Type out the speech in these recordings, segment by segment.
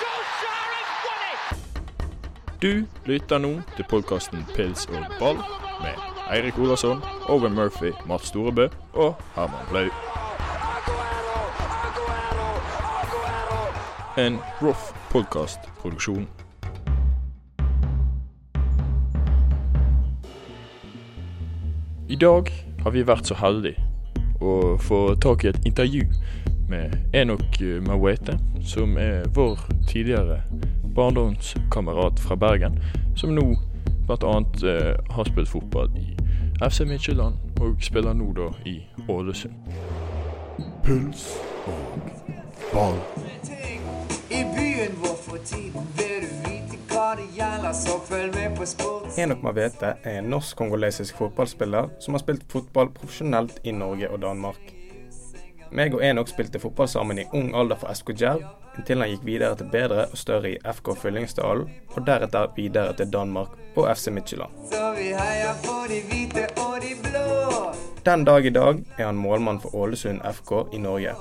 Du lytter nå til podcasten Pils og Ball med Eirik Olarsson, Owen Murphy, Mats Storebø og Herman Blau. En rough podcast-produksjon. I dag har vi vært så heldige å få tak i et intervju med Enok Mawete, som vår tidligere barndomskamerat fra Bergen, som nå blant annet har spilt fotball i FC Midtjylland og spiller nå da i Ålesund. Puls og ball. I byen vår for tiden vil du vite hva det gjelder, så følg med på sport. Enok Mawete en norsk-kongolesisk fotballspiller som har spilt fotball profesjonelt i Norge og Danmark. Meg og Enok spilte fotball sammen i ung alder for SK Djerv, inntil han gikk videre til bedre og større i FK Fyllingsdalen, og deretter videre til Danmark og FC Midtjylland. Så vi heier på de hvite og de blå. Den dag i dag han målmann for Ålesund FK i Norge.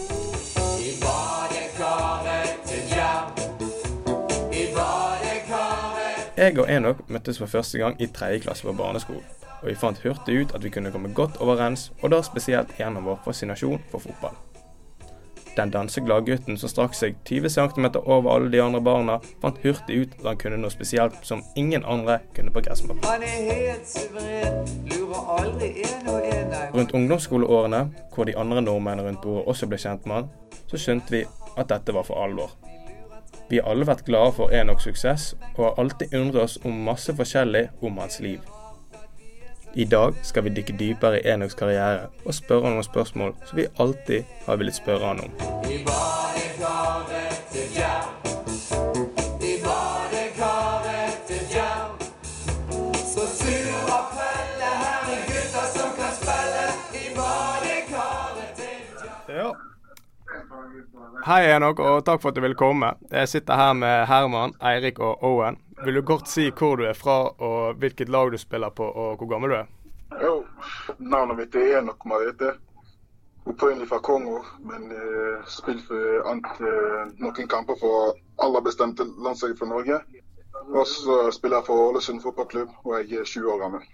I badekaret til Djerv. I badekaret. Jeg og Enok møttes for første gang i 3. klasse på barneskolen, og vi fant hurtig ut at vi kunne komme godt overens, og da spesielt gjennom vår fascinasjon for fotball. Den danseglade gutten som strakk seg 20 cm over alle de andre barna, fant hurtig ut at han kunne noe spesielt som ingen andre kunne på gressmatten. Han helt suveren, lurer aldri en og en der. Rundt ungdomsskoleårene, hvor de andre nordmennene rundt bordet også ble kjent med han, så skjønte vi at dette var for alvor. Vi har alle vært glade for Enoks suksess, og har alltid undret oss om masse forskjellig om hans liv. I dag skal vi dykke dypere i Enoks karriere og spørre noen spørsmål som vi alltid har villet spørre han om. I badekaret til Djerv. I badekaret til Djerv. Så sur og pelle, her gutter som kan spille. I badekaret til Djerv. Ja. Hei Enok, og takk for at du ville komme. Jeg sitter her med Herman, Eirik og Owen. Vil du kort si hvor du fra, og hvilket lag du spiller på, og hvor gammel du er? Jo, navnet mitt Enok Mawete. Opprinnelig fra Kongo, men spilt for noen kamper for alle bestemte landslag fra Norge. Og så spiller jeg for Ålesund fotballklubb, og jeg er 20 år gammel.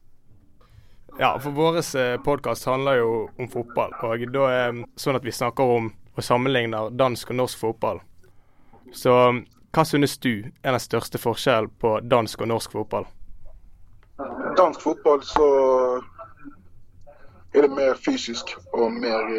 Ja, for vår podcast handler jo om fotball, og da sånn at vi snakker om og sammenligner dansk og norsk fotball. Så hva synes du er den største forskjellen på dansk og norsk fotball? Dansk fotball så er det mer fysisk og mer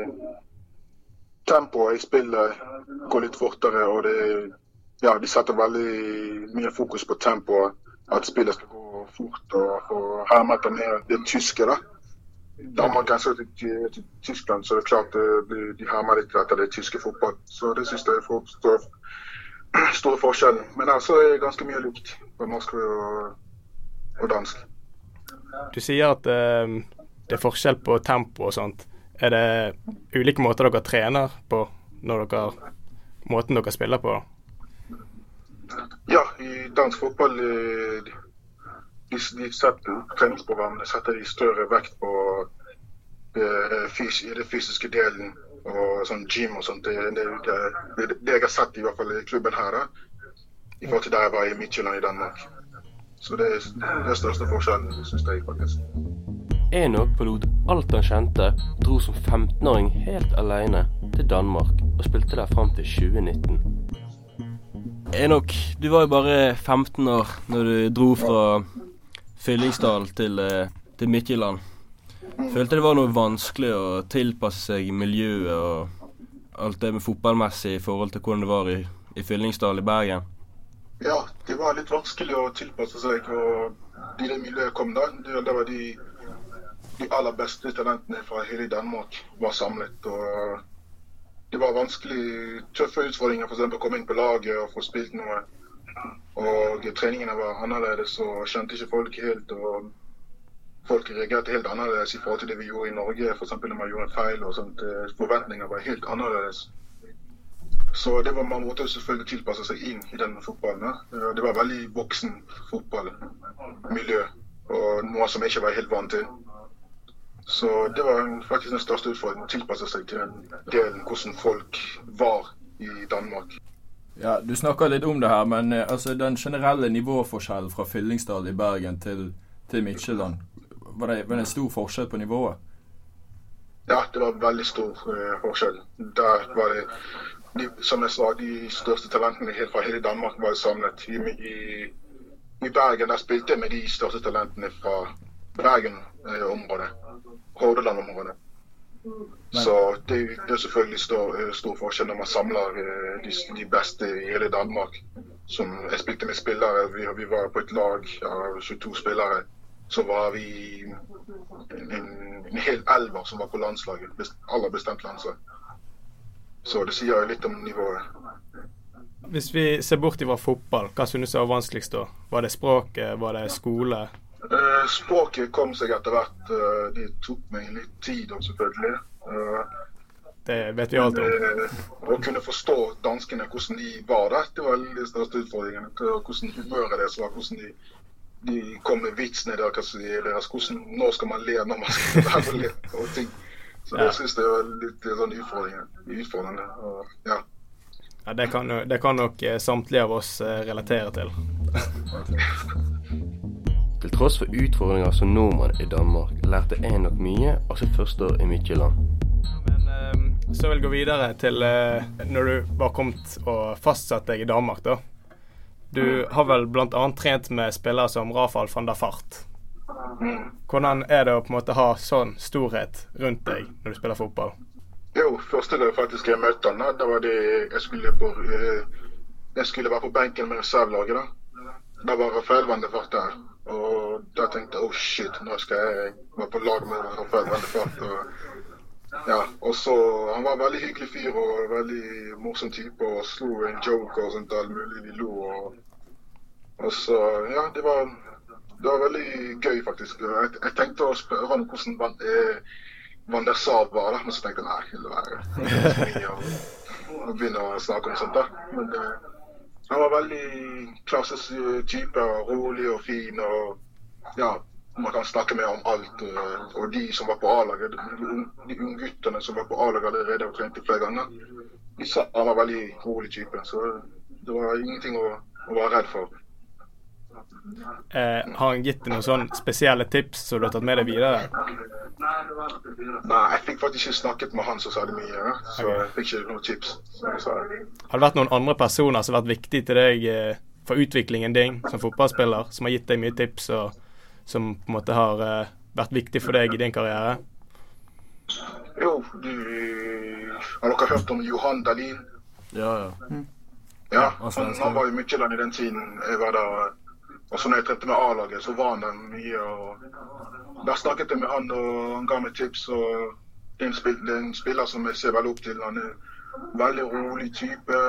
tempo i spillet, går litt fortere, og de setter veldig mye fokus på tempo, at spillet skal gå fort og herme etter mer det tyske da. Da man kan se til Tyskland, så er det klart de hermer litt etter det tyske fotball, så det synes jeg er store forskjellen. Men altså er det ganske mye likt på norsk og dansk. Du sier at det er forskjell på tempo og sånt. Er det ulike måter dere trener på når måten dere spiller på? Ja, i dansk fotball de setter treningsprogrammene, setter de større vekt på det fysiske delen og sånn gym og sånt. Det jeg har sett i hvert fall i klubben her da, i forhold til der jeg var i Midtjylland i Danmark. Så det er det største forskjellen, synes jeg faktisk. Enok forlot alt han kjente, dro som 15-åring helt alene til Danmark og spilte der frem til 2019. Enok, du var jo bare 15 år når du dro fra Fyllingsdal til Midtjylland. Følte det var noe vanskelig å tilpasse seg i miljøet og alt det med fotballmessig i forhold til hvordan det var i Fyllingsdal i Bergen? Ja, det var litt vanskelig å tilpasse seg, og i det miljøet kom da, det var de aller beste talentene fra hele Danmark var samlet, og det var vanskelig, tøffe utfordringer, for eksempel å komme inn på laget og få spilt noe. Og treningene var annerledes, og kjente ikke folk helt, og folk reagerte helt annerledes i forhold til det vi gjorde i Norge, for eksempel når man gjorde en feil og sånt. Forventninger var helt annerledes. Så det var man måtte selvfølgelig tilpasse seg inn i den fotballen. Det var veldig voksen fotballmiljø, og noe som jeg ikke var helt vant til. Så det var faktisk den største utfordringen, å tilpasse seg til den delen hvordan folk var i Danmark. Ja, du snakker litt om det her, men altså den generelle nivåforskjellen fra Fyllingsdal i Bergen til Midtjylland, var det en stor forskjell på nivået? Ja, det var veldig stor forskjell. Der var det, som jeg sa, de største talentene fra hele Danmark var samlet. I Bergen der spilte jeg med de største talentene fra Bergen-området, Hordaland-området. Så det er selvfølgelig stor forskjell når man samler de bedste i hele Danmark. Som jeg spilte med spillere, vi var på et lag av 22 spillere. Så var vi en hel elver som var på landslaget, alle bestemt landslag. Så det sier litt om nivået. Hvis vi ser bort fra fotball, hva synes du var vanskeligst da? Var det språket, var det skole? Språket kom seg etter hvert. Det tok meg litt tid, selvfølgelig. Det vet vi alt om. Å kunne forstå danskene, hvordan de var der, det var de største utfordringene. Hvordan humøret deres var, hvordan de kom med vitsene deres, hvordan skal man le når man skal være og le og ting. Så jeg synes det var litt sånn utfordrende. Ja. Ja, det kan nok samtlige av oss relatere til. Til tross for utfordringer som nordmann i Danmark, lærte jeg nok mye av sitt første år i Midtjylland. Men så vil jeg gå videre til når du var kommet og fastsatt deg i Danmark da. Du har vel blant annet trent med spillere som Rafael van der Vaart. Hvordan det å på en måte ha sånn storhet rundt deg når du spiller fotball? Jo, første gang faktisk jeg møtte han, da var det jeg skulle være på benken med reservelaget da. Da var Rafael van der Vaart der, og da tenkte jeg, shit, nå skal jeg være på lag med Rafael van der Vaart. Ja, og så han var en veldig hyggelig fyr og veldig morsom type og slo en joke og sånt alt mulig, vi lo og så, ja, det var veldig gøy faktisk. Jeg tenkte å spørre han hvordan Van der Sar var da, men så tenkte jeg, nei, det var og begynne å snakke om sånt da. Men han var veldig klasses type, rolig og fin og ja, man kan snakke med om alt, og de som var på A-laget, de unge gutterne som var på A-laget allerede og trente flere ganger, de sa han var veldig rolig type, så det var ingenting å være redd for. Har han gitt deg noen sånne spesielle tips som du har tatt med deg videre? Nei, jeg fikk faktisk ikke snakket med han som sa det mye, så jeg fikk ikke noen tips. Har det vært noen andre personer som har vært viktige til deg for utviklingen din som fotballspiller, som har gitt deg mye tips og som på en måte har vært viktig for deg i din karriere? Jo, har dere hørt om Johan Dahlin? Ja. Ja, han var i Midtjylland i den tiden jeg var der. Og så når jeg trente med A-laget, så var han der mye. Og der snakket jeg med han, og han ga meg tips. Og det er en spiller som jeg ser veldig opp til. Han veldig rolig type.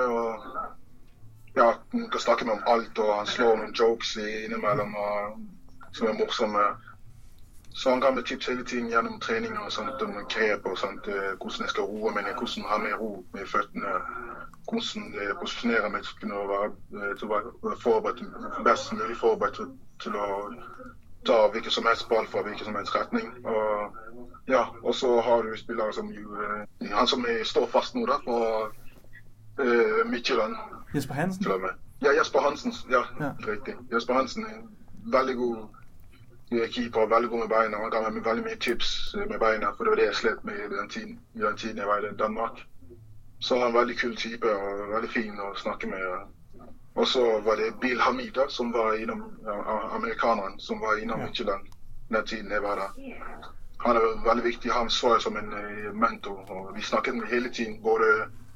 Og ja, man kan snakke med om alt, og han slår noen jokes innimellom som morsomme. Så han ga meg tips hele tiden gjennom treninger og sånt, om grep og sånt, hvordan jeg skal roe meg, hvordan ha mer ro med føttene, hvordan jeg posisjonerer meg til å være forberedt, best mulig forberedt til å ta hvilken som helst ball fra hvilken som helst retning. Og ja, og så har du spillere som han som står fast nå da, på Midtjylland. Jesper Hansen? Ja, Jesper Hansen, ja. Riktig. Jesper Hansen veldig god keeper, veldig god med beina. Han ga meg veldig mye tips med beina, for det var det jeg slet med i den tiden jeg var i Danmark. Så han var en veldig kul type og veldig fin å snakke med. Og så var det Bill Hamida, som var innom amerikaneren, som var innom Midtjylland den tiden jeg var der. Han veldig viktig, han så jeg som en mentor, og vi snakket med hele tiden, både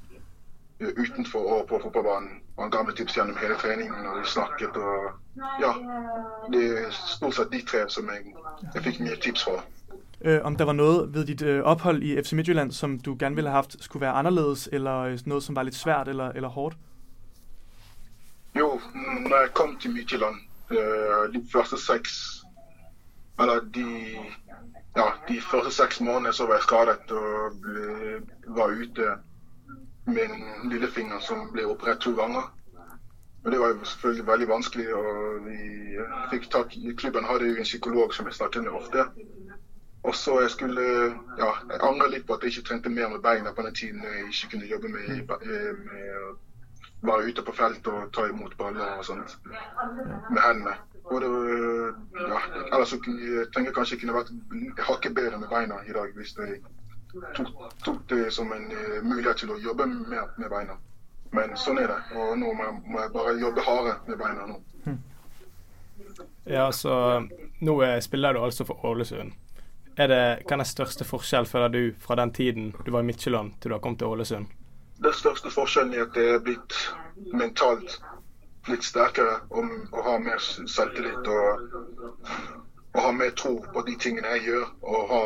utenfor og på fotballbanen. Han ga meg tips gjennom hele treningen, og vi snakket, og ja, det stort sett de tre som jeg fikk mye tips fra. Om der var noget ved dit ophold i FC Midtjylland, som du gerne ville have haft, skulle være anderledes, eller noget, som var lidt svært eller hårdt? Jo, når jeg kom til Midtjylland, de første 6 måneder så var jeg skadet og var ute med en lillefinger som ble operert 2 ganger. Og det var jo selvfølgelig veldig vanskelig, og vi fikk tak i klubben, hadde jo en psykolog som jeg snakket med ofte. Og så jeg angrer litt på at jeg ikke trente mer med beina på den tiden jeg ikke kunne jobbe med være ute på felt og ta imot baller og sånt med hendene. Og det, ellers så tenker jeg kanskje jeg kunne vært hakket bedre med beina i dag hvis jeg tok det som en mulighet til å jobbe mer med beina. Men sånn det, og nå må jeg bare jobbe hardere med beina nå. Ja, så nå spiller du altså for Ålesund. Hva er den største forskjell føler du fra den tiden du var i Midtjylland til du har kommet til Ålesund? Den største forskjellen at det blitt mentalt litt sterkere og ha mer selvtillit og ha mer tro på de tingene jeg gjør og ha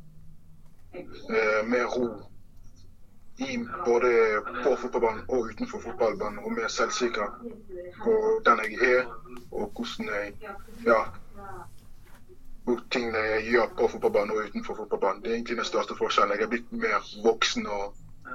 mer ro i både på fotballbanen og utenfor fotballbanen og mer selvsikker på den jeg og hvordan jeg og tingene jeg gjør på fotballbanen og utenfor fotballbanen. Det egentlig den største forskjellen. Jeg blitt mer voksen og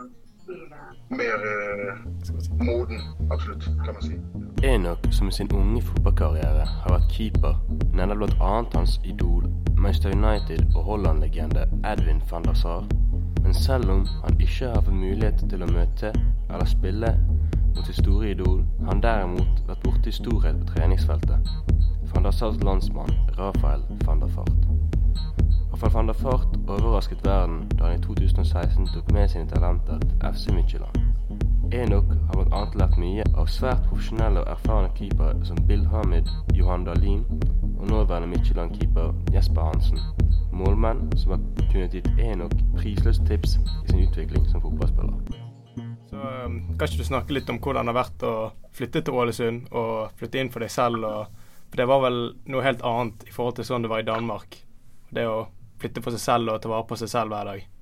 mer moden, absolutt, kan man si. Enok, som i sin unge fotballkarriere har vært keeper, nevner blant annet hans idol, Manchester United og Holland-legende Edwin van der Sar. Men selv om han ikke har fått mulighet til å møte eller spille mot sitt store idol, har han derimot vært borte i storhet på treningsfeltet. Van der Sars landsmann, Rafael van der Vaart. Rafael van der Vaart overrasket verden da han i 2016 tok med sine talenter til FC Midtjylland. Enok har blant annet lært mye av svært profesjonelle og erfarne keepere som Bill Hamid, Johan Dahlin og nåværende Midtjylland-keeper Jesper Hansen. Målmenn som har kunnet gitt Enok prisløst tips i sin utvikling som fotballspiller. Så kan ikke du snakke litt om hvordan det har vært å flytte til Ålesund og flytte inn for deg selv? For det var vel noe helt annet i forhold til sånn det var i Danmark. Det å flytte for seg selv og ta vare på seg selv hver dag.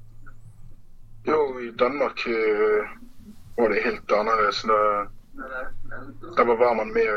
Jo, i Danmark var det helt annerledes. Der var man mer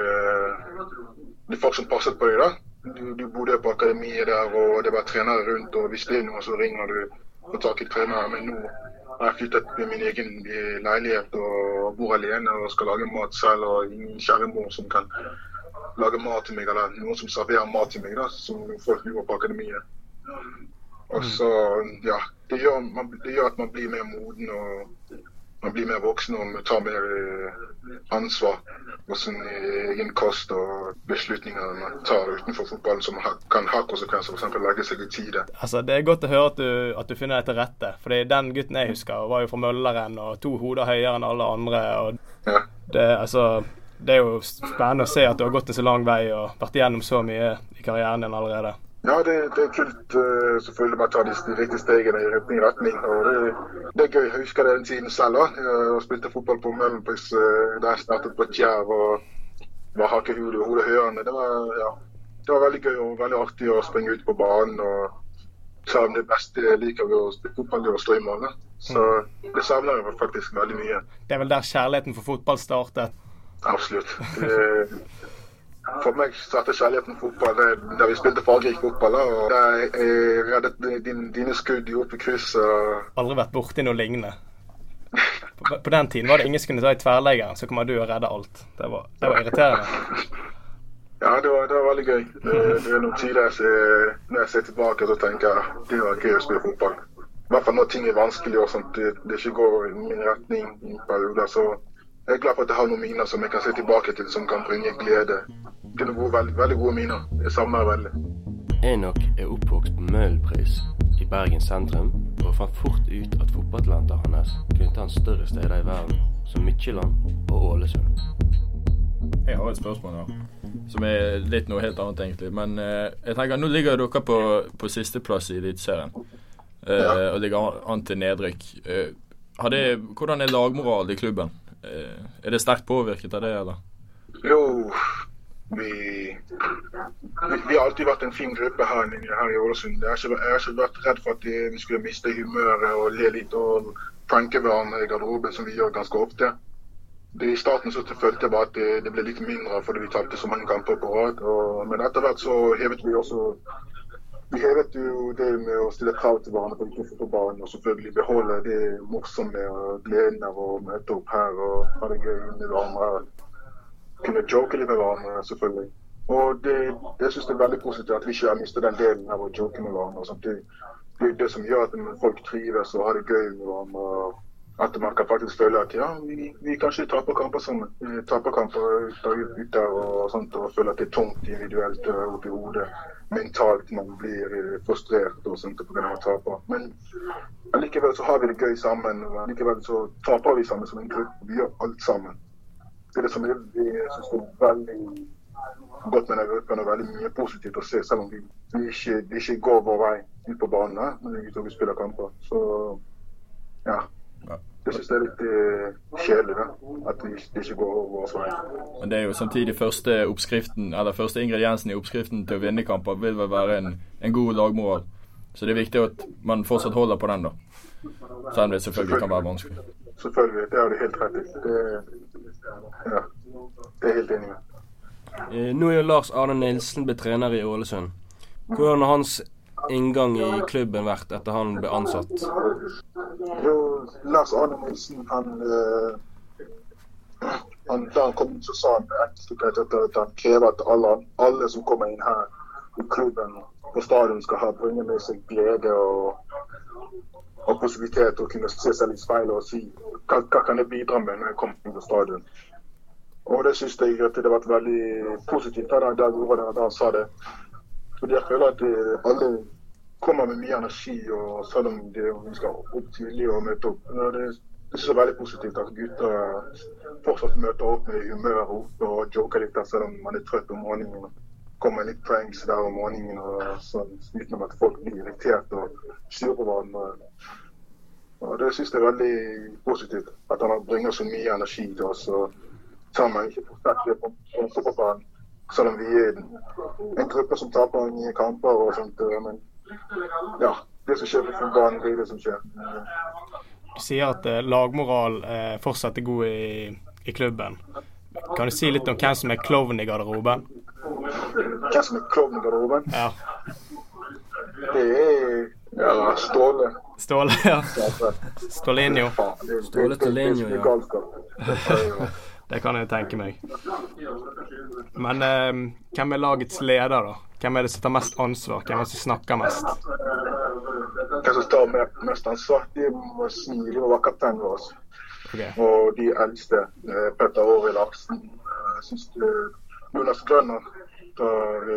det folk som passet på deg da. Du bodde på akademiet der, og det var trenere rundt, og hvis det er noe så ringer du og tar tak i trenere. Men nå har jeg flyttet med min egen leilighet og bor alene og skal lage mat selv, og ingen kjære mor som kan lage mat til meg, eller noen som serverer mat til meg da, som folk gjorde på akademiet. Og så, det gjør at man blir mer moden og man blir mer voksen og tar mer ansvar for sin egen kost og beslutninger man tar utenfor fotballen som kan ha konsekvenser, for eksempel legge seg i tide. Altså, det er godt å høre at du finner deg til rette, fordi den gutten jeg husker var jo fra Mølleren og 2 hoder høyere enn alle andre, og det er jo spennende å se at du har gått en så lang vei og vært igjennom så mye i karrieren din allerede. Ja, det er kult selvfølgelig bare ta de riktige stegene i riktig retning, og det er gøy. Jeg husker den tiden selv også. Jeg spilte fotball på Møllenpris, da jeg startet på Tjær og var hakkehudet og hodehørende. Det var veldig gøy og veldig artig å springe ut på banen, og savne det beste jeg liker ved å spille fotball, det å stå i mål. Så det savner jeg faktisk veldig mye. Det er vel der kjærligheten for fotball startet? Absolutt. For meg startet kjærligheten fotball da vi spilte fargerik fotball, og da jeg reddet dine skudd i oppe kryss. Aldri vært borte i noe lignende. På den tiden var det ingen som kunne ta i tverrleggeren, så kommer du og redde alt. Det var irriterende. Ja, det var veldig gøy. Det er noen tider når jeg ser tilbake og tenker det var gøy å spille fotball. I hvert fall når ting er vanskelig og sånt, det ikke går i min retning i perioder, så jeg er glad for at jeg har noen miner som jeg kan se tilbake til, som kan bringe glede. Det er noen veldig gode miner. Jeg savner veldig. Enok er oppvokst på Møhlenpris i Bergen sentrum, og fant fort ut at fotballtalentet hans kunne ta en større steder i verden, som Midtjylland og Ålesund. Jeg har et spørsmål nå, som er litt noe helt annet egentlig. Men jeg tenker, nå ligger dere på siste plass i Eliteserien, og ligger an til nedrykk. Hvordan er lagmoral i klubben? Er det sterkt påvirket av det, eller? Jo, vi har alltid vært en fin gruppe her i Ålesund. Jeg har ikke vært redd for at vi skulle miste humøret og le litt og pranke hverandre i garderoben, som vi gjør ganske ofte. I starten så følte jeg bare at det ble litt mindre fordi vi tapte så mange kamper på rad. Men etter hvert så hevet vi også jo det med å stille krav til hverandre på banen, og selvfølgelig beholde det morsomme og gleden av å møte opp her og ha det gøy med hverandre. Kunne joke litt med hverandre, selvfølgelig. Og jeg synes det er veldig positivt at vi ikke har mistet den delen av å joke med hverandre. Det er det som gjør at folk trives og har det gøy med hverandre. At man kan faktisk føle at ja, vi kanskje taper kamper sammen. Vi taper kamper ute og sånt, og føler at det tungt individuelt oppi hodet. Mentalt man blir frustrert og sånt på grunn av å tape. Men allikevel så har vi det gøy sammen, og allikevel så taper vi sammen som en gruppe. Vi gjør alt sammen. Det det som vi synes det veldig godt med den gruppen, og veldig mye positivt å se, selv om vi ikke går vår vei ut på banen når vi spiller kamper. Så ja. Jeg synes det litt kjedelig at det ikke går over vår vei. Men det jo samtidig første ingrediensen i oppskriften til å vinne kamper vil vel være en god lagmoral. Så det viktig at man fortsatt holder på den da. Selv om det selvfølgelig kan være vanskelig. Selvfølgelig, det det helt rett i. Det helt enig med. Nå jo Lars Arne Nilsen ble trener i Ålesund. Hvordan har hans inngang i klubben vært etter han ble ansatt? Jo, Lars Arne Nilsen, da han kom inn så sa han at han krever at alle som kommer inn her i klubben på stadion skal bringe med seg glede og positivitet til å kunne se seg i speilet og si hva kan jeg bidra med når jeg kommer inn på stadion. Og det synes jeg at det var veldig positivt da han sa det. Fordi jeg føler at alle kommer med mye energi, og selv om vi skal opp tidlig og møte opp. Det synes jeg er veldig positivt at gutter fortsatt møter opp med humør og joker litt der, selv om man trøtt om morgenen. Kommer litt pranks der om morgenen, og sånn, uten at folk blir irritert og styrer på hverandre. Og det synes jeg er veldig positivt, at han bringer så mye energi til oss, og sammen ikke forstått det på fotballbanen. Selv om vi en gruppe som taper mye kamper og sånt, men ja, det som skjer på fotballbanen, det det som skjer. Du sier at lagmoral fortsatt er god i klubben. Kan du si litt om hvem som er klovn i garderoben? Hvem som er klovn i garderoben? Ja. Det Ståle. Ståle, ja. Stålinho. Ståle Stålinho, ja. Det kan jeg tenke meg. Men hvem er lagets leder da? Hvem er det som tar mest ansvar? Hvem er det som snakker mest? Hvem som tar mest ansvar? De må være kapteinen vår. Okay. Og de eldste, Petter Åre Larsen, jeg synes Jonas Grønner tar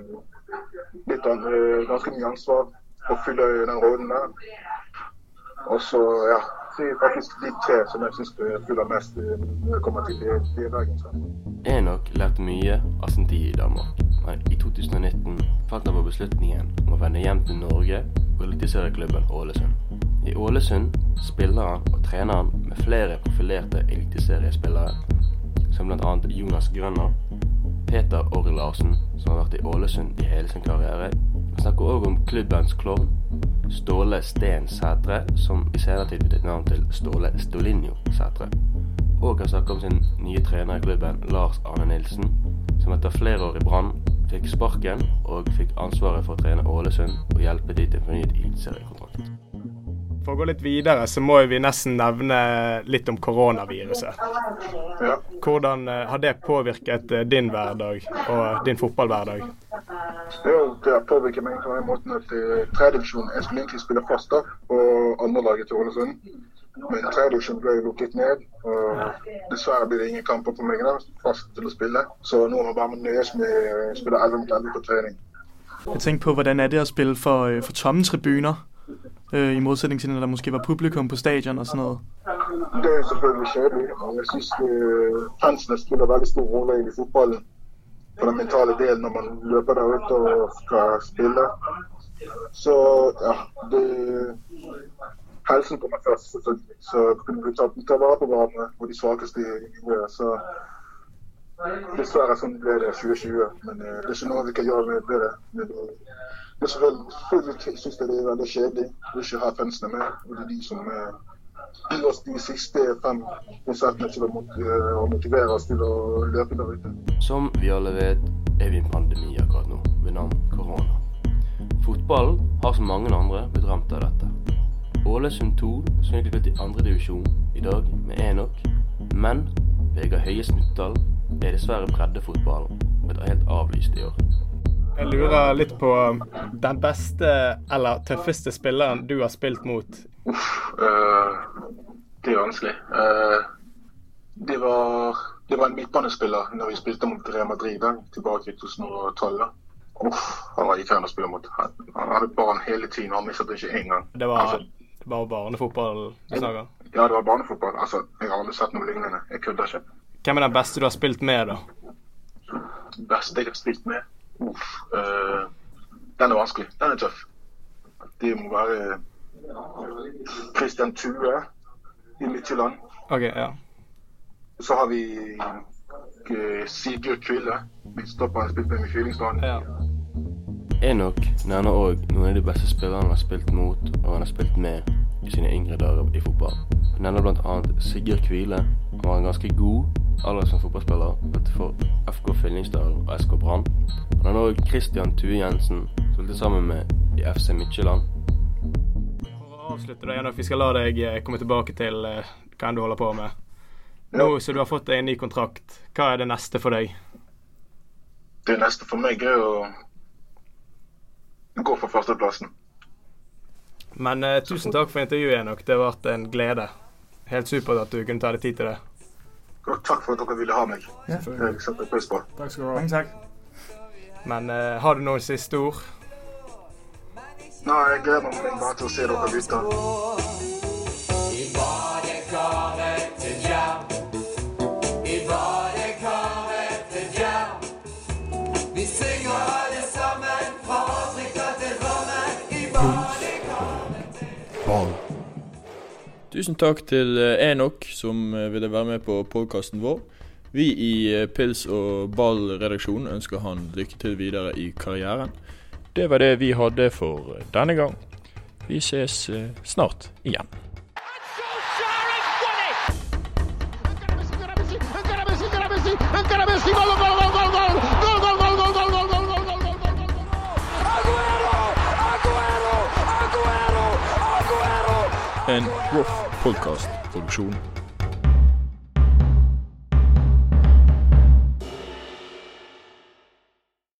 ganske mye ansvar og fyller den rollen der. Og så, ja, det er faktisk de tre som jeg synes fyller mest når det kommer til det dagen. Enok lærte mye av sin tid i Danmark, men i 2019 falt han på beslutningen om å vende hjem til Norge og eliteserieklubben Ålesund. I Ålesund spiller han og trener han med flere profilerte eliteseriespillere, som blant annet Jonas Grønner, Petter Åre Larsen, som har vært i Ålesund i hele sin karriere. Han snakker også om klubbens klovn, Ståle Sten Sætre, som i senere tid byttet navn til Ståle Stålinho Sætre. Og han snakker om sin nye trener i klubben, Lars Arne Nilsen, som etter flere år i Brann fikk sparken og fikk ansvaret for å trene Ålesund og hjelpe de til en fornyet eliteseriekontrakt. For å gå litt videre, så må vi nesten nevne litt om koronaviruset. Ja. Hvordan har det påvirket din hverdag og din fotballhverdag? Jo, det har påvirket meg på den måten at tredjedivisjonen, jeg skulle egentlig spille fast da, på andre laget til Ålesund. Men tredjedivisjonen ble lukket ned, og dessverre blir det ingen kamper på meg da, fast til å spille. Så nå må jeg bare nøjes med å spille 11 på trening. Jeg tænker på, hvordan det at spille for tomme tribuner? I modsætning til, når der måske var publikum på stadion og sådan noget? Det er selvfølgelig kjedelig, og jeg synes fansene spiller veldig stor rolle i fotballen. For den mentale delen når man løper der ut og skal spille. Så ja, helsen kommer først selvfølgelig. Så kunne vi ta vare på hverandre og de svakeste i miljøet. Så dessverre sånn ble det 2020, men det er ikke noe vi kan gjøre med det. Men selvfølgelig synes jeg det er veldig kjedelig å ikke ha fansene med, og det er de som gir oss de siste 5% til å motivere oss til å løpe der ute. Som vi alle vet, er vi i en pandemi akkurat nå, ved navn korona. Fotballen har som mange andre blitt ramt av dette. Ålesund 2 som egentlig gått i andre divisjon i dag med Enok, men Vegard Høie Snuttdal er dessverre breddefotballen og er helt avlyst i år. Jeg lurer litt på den beste eller tøffeste spilleren du har spilt mot. Det er vanskelig. Det var en midtbanespiller når vi spilte mot Real Madrid tilbake i 2012. Han var irriterende å spille mot. Han hadde barn hele tiden, og han mistet ikke en gang. Det var barnefotball du snakker? Ja, det var barnefotball. Altså, jeg har aldri sett noe lignende. Jeg kødder ikke. Hvem er den beste du har spilt med, da? Den beste jeg har spilt med? Den er vanskelig. Den er tøff. Det må være Christian Thue i Midtjylland. Ok, ja. Så har vi Sigurd Kvile. Vi stopper han spilt med i Fyllingsdalen. Ja. Enok nevner også noen av de beste spillerne han har spilt mot og han har spilt med i sine yngre dager i fotball. Han nevner blant annet Sigurd Kvile. Han var en ganske god aller som fotballspiller for FK Fyllingsdalen og SK Brann. Han har også Christian Thue Jensen, spilte sammen med i FC Midtjylland. For å avslutte da, Enok, vi skal la deg komme tilbake til hva du holder på med. Nå så du har fått en ny kontrakt, hva er det neste for deg? Det neste for meg er å gå for førsteplassen. Men tusen takk for intervjuet, Enok. Det har vært en glede. Helt supert at du kunne ta deg tid til det. Takk for at dere ville ha meg. Ja. Jeg setter pris på. Takk skal du ha. Mange takk. Men har du noen siste ord? Nei, jeg gleder meg bare til å se dere ute. I badekaret til Djerv. I badekaret til Djerv. Vi synger alle sammen fra Afrika til Drammen. I badekaret til Djerv. Tusen takk til Enok som ville være med på podcasten vår. Vi i Pils og Ball-redaksjonen ønsker han lykke til videre i karrieren. Det var det vi hadde for denne gang. Vi ses snart igjen. En Rough Podcast-produksjon.